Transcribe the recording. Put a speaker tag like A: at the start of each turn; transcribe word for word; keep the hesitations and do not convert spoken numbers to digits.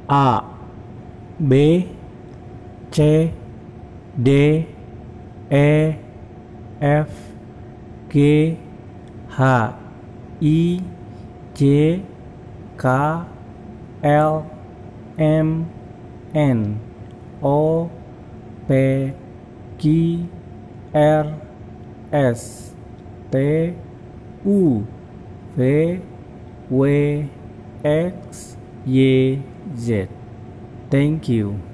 A: A, B, C, D, E, F, G, H, I, J, K, L, M, N, O, P, Q, R, S, T, U, V, W, X, Y, Z. Thank you.